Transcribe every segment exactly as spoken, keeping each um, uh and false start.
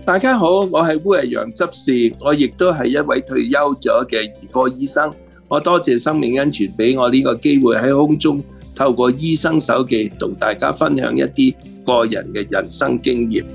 大家好，我係烏日陽執事，我亦都係一位退休咗嘅兒科醫生。我多謝生命恩泉俾我呢個機會喺空中透過醫生手記同大家分享一啲個人嘅人生經驗。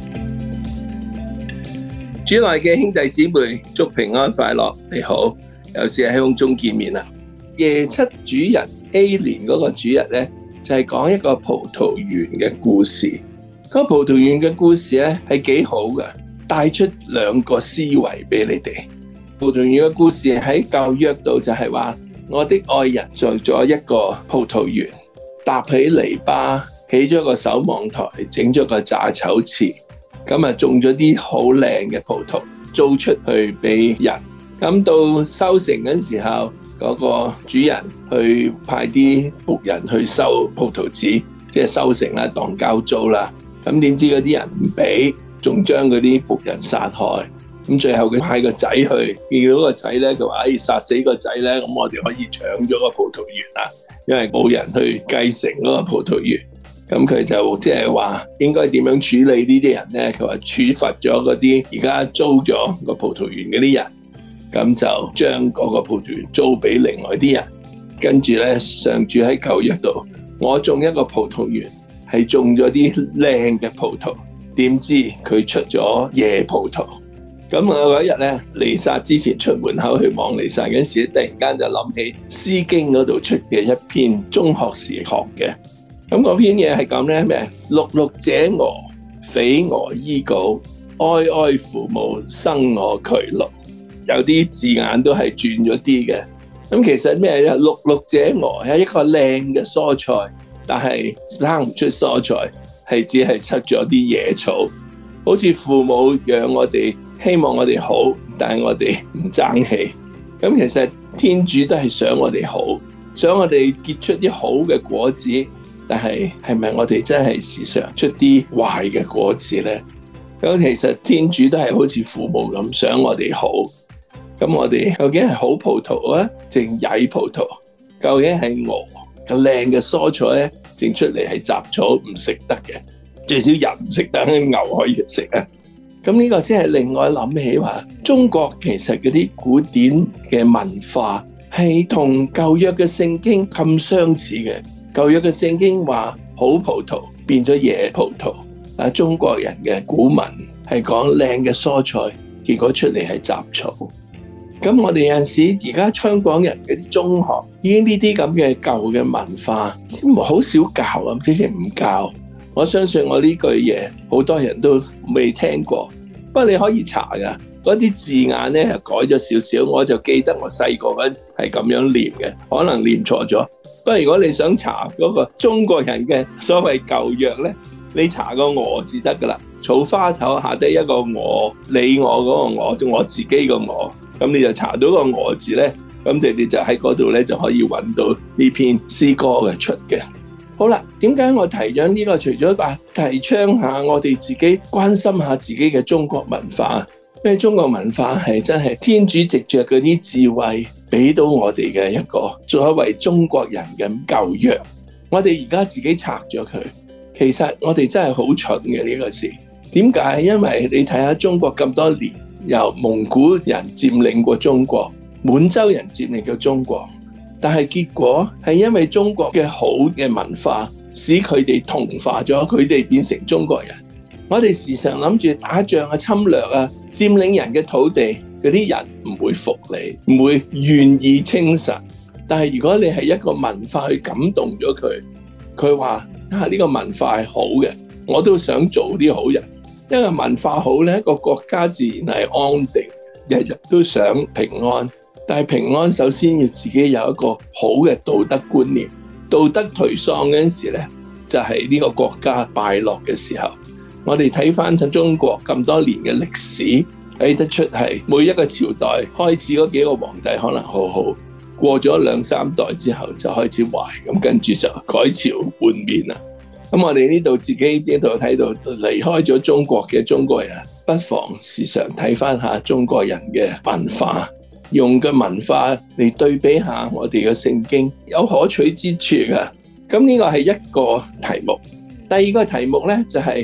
主內嘅兄弟姊妹，祝平安快樂。你好，又是喺空中見面啦。夜七主日 A 年嗰個主日呢，就係講一個葡萄園嘅故事。嗰個葡萄園嘅故事咧係幾好嘅，帶出兩個思維俾你哋。葡萄園嘅故事喺舊約度就係話，我的愛人做咗一個葡萄園，搭起籬笆，起咗個守望台，整咗個榨酒池，咁啊種咗啲好靚嘅葡萄，租出去俾人。咁到收成嗰時候，嗰個主人去派啲僕人去收葡萄籽，即係收成啦，當交租啦。咁點知嗰啲人唔俾，仲將嗰啲僕人殺害。咁最後佢派個仔去，見到個仔咧，佢話：哎，殺死個仔咧，咁我哋可以搶咗個葡萄園啦，因為冇人去繼承嗰個葡萄園。咁佢就即係話應該點樣處理呢啲人咧？佢話處罰咗嗰啲而家租咗個葡萄園嗰啲人，咁就將嗰個葡萄園租俾另外啲人。跟住咧，上主喺舊約度，我種一個葡萄園。係種咗啲靚嘅葡萄，點知佢出咗野葡萄。咁我嗰日咧，彌撒之前出門口去望彌撒嗰時，突然間就諗起詩經嗰度出嘅一篇中學時學嘅。咁嗰篇嘢係咁咧咩？碌碌者俄，匪俄依稿，哀哀父母，生我劬勞。有啲字眼都係轉咗啲嘅。咁其實咩咧？碌碌者俄係一個靚嘅蔬菜。但係生唔出蔬菜，係只係出咗啲野草，好似父母養我哋，希望我哋好，但係我哋唔爭氣。咁其實天主都係想我哋好，想我哋結出啲好嘅果子，但係係咪我哋真係時常出啲壞嘅果子呢？咁其實天主都係好似父母咁想我哋好。咁我哋究竟係好葡萄啊，定曳葡萄？究竟係鵝？個靚嘅蔬菜咧，整出嚟係雜草唔食得嘅，最少人唔食得，牛可以食啊。咁呢個即係另外諗起話，中國其實嗰啲古典嘅文化係同舊約嘅聖經咁相似嘅。舊約嘅聖經話好葡萄變咗野葡萄，啊，中國人嘅古文係講靚嘅蔬菜，結果出嚟係雜草。咁我哋有陣時而家香港人嘅中學已經呢啲咁嘅舊嘅文化，好少教啊，之前唔教。我相信我呢句嘢好多人都未聽過，不過你可以查噶，嗰啲字眼咧改咗少少，我就記得我細個嗰陣時係咁樣念嘅，可能念錯咗。不過如果你想查嗰個中國人嘅所謂舊約咧，你查個我字得噶啦，草花頭下低一個我，你我嗰個我，就我自己個我。咁你就查到個我字咧，咁你哋就喺嗰度咧就可以揾到呢篇詩歌嘅出嘅。好啦，點解我提咗呢個？除咗話提倡下我哋自己關心下自己嘅中國文化，因為中國文化係真係天主藉着嗰啲智慧俾到我哋嘅一個作為中國人嘅舊約。我哋而家自己拆咗佢，其實我哋真係好蠢嘅呢個事。點解？因為你睇下中國咁多年，由蒙古人佔領過中國，滿洲人佔領過中國，但係結果係因為中國嘅好嘅文化，使佢哋同化咗，佢哋變成中國人。我哋時常諗住打仗啊、侵略啊、佔領人嘅土地，嗰啲人唔會服你，唔會願意稱臣。但係如果你係一個文化去感動咗佢，佢話啊，呢個文化係好嘅，我都想做啲好人。因為文化好咧，一個國家自然係安定，日日都想平安。但係平安首先要自己有一個好嘅道德觀念。道德頹喪嗰陣時咧，就係呢個國家敗落嘅時候。我哋睇翻中國咁多年嘅歷史，睇得出係每一個朝代開始嗰幾個皇帝可能好好，過咗兩三代之後就開始壞，咁跟住就改朝換面啦。咁我哋呢度自己呢度睇到離開咗中國嘅中國人，不妨時常睇翻下中國人嘅文化，用嘅文化嚟對比下我哋嘅聖經，有可取之處㗎。咁呢個係一個題目。第二個題目呢，就係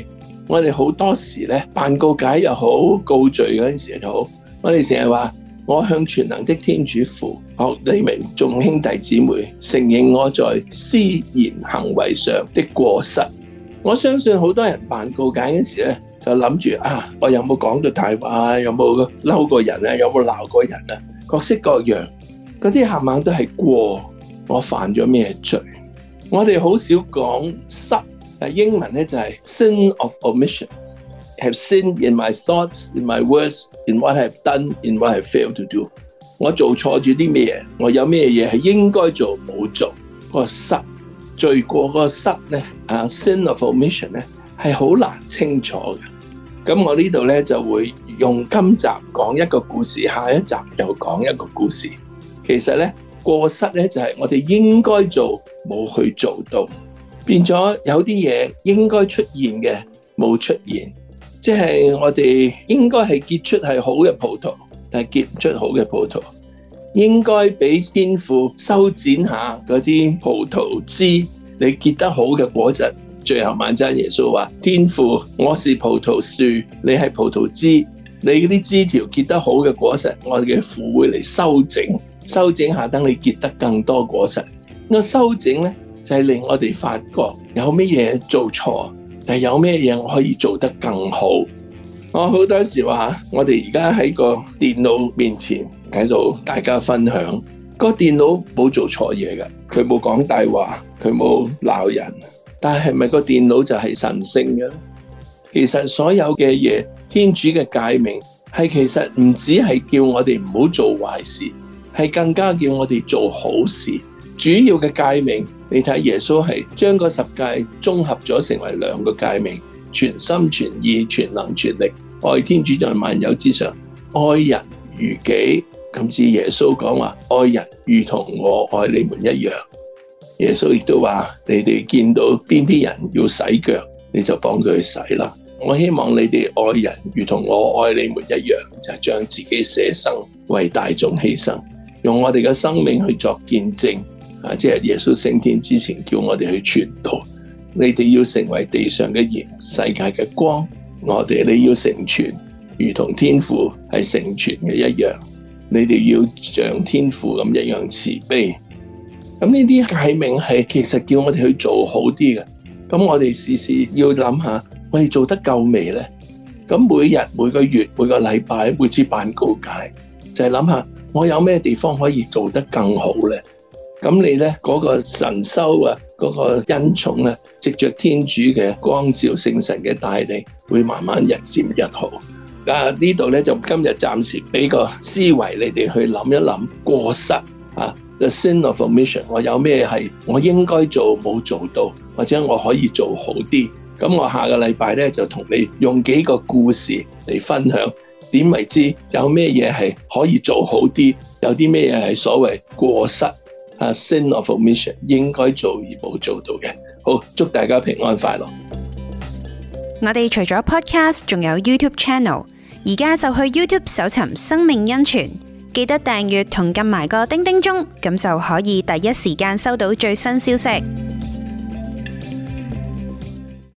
我哋好多時咧辦告解又好，告罪嗰陣時又好，我哋成日話我向全能的天主父，學你們眾兄弟姊妹承認我在思言行為上的過失。我相信好多人辦告解嗰時咧，就諗住啊，我有冇講到大話，有冇嬲過人啊，有冇鬧過人啊，各式各樣嗰啲冚唪唥都係過，我犯咗咩罪？我哋好少講失，英文咧就係 sin of omission。Have sinned in my thoughts, in my words, in what I've done, in what I've failed to do。我做錯咗啲咩嘢？我有咩嘢係應該做冇做？嗰個失罪過嗰個失咧，啊 sin of omission 咧係好難清楚嘅。咁我呢度咧就會用今集講一個故事，下一集又講一個故事。其實咧過失咧就係我哋應該做冇去做到，變咗有啲嘢應該出現嘅冇出現。即係我哋應該係結出係好嘅葡萄，但係結唔出好嘅葡萄。應該俾天父修剪下嗰啲葡萄枝，你結得好嘅果實。最後晚餐耶穌話：天父，我是葡萄樹，你係葡萄枝，你嗰啲枝條結得好嘅果實，我哋嘅父會嚟修整，修整下等你結得更多果實。個修整咧就係令我哋發覺有咩嘢做錯。但有咩嘢我可以做得更好？我好多時話我哋而家喺個電腦面前喺度大家分享，個電腦冇做錯嘢㗎，佢冇講大話，佢冇鬧人，但係咪個電腦就係神聖嘅咧？其實所有嘅嘢，天主嘅誡命係其實唔止係叫我哋唔好做壞事，係更加叫我哋做好事。主要嘅誡命，你睇耶穌係將個十誡綜合咗成為兩個誡命：全心全意全能全力愛天主在萬有之上，愛人如己。咁至耶穌講話愛人如同我愛你們一樣。耶穌亦都話你哋見到邊啲人要洗腳，你就幫佢去洗啦。我希望你哋愛人如同我愛你們一樣，就係將自己捨生為大眾犧牲，用我哋嘅生命去作見證。啊！即係耶穌升天之前叫我哋去傳道，你哋要成為地上嘅鹽，世界嘅光。我哋你要成全，如同天父係成全嘅一樣。你哋要像天父咁一樣慈悲。咁呢啲誡命係其實叫我哋去做好啲嘅。咁我哋時時要諗下，我哋做得夠未呢？咁每日、每個月、每個禮拜，每次辦告解，就係諗下我有咩地方可以做得更好呢？咁你咧嗰個神修啊，嗰個恩寵咧，藉着天主嘅光照、聖神嘅帶領，會慢慢日漸日好。啊，呢度咧就今日暫時俾個思維你哋去諗一諗過失啊 ，the sin of omission，我有咩係我應該做冇做到，或者我可以做好啲。咁我下個禮拜咧就同你用幾個故事嚟分享，點為之有咩嘢係可以做好啲，有啲咩嘢係所謂過失。Uh, sin of omission 應該做而冇做到嘅。好，祝大家平安快樂。 我哋除咗 podcast 仲有 YouTube channel， 而家就去 YouTube 搜尋生命恩泉，記得訂閱同撳埋個叮叮鐘，咁就可以第一時間收到最新消息。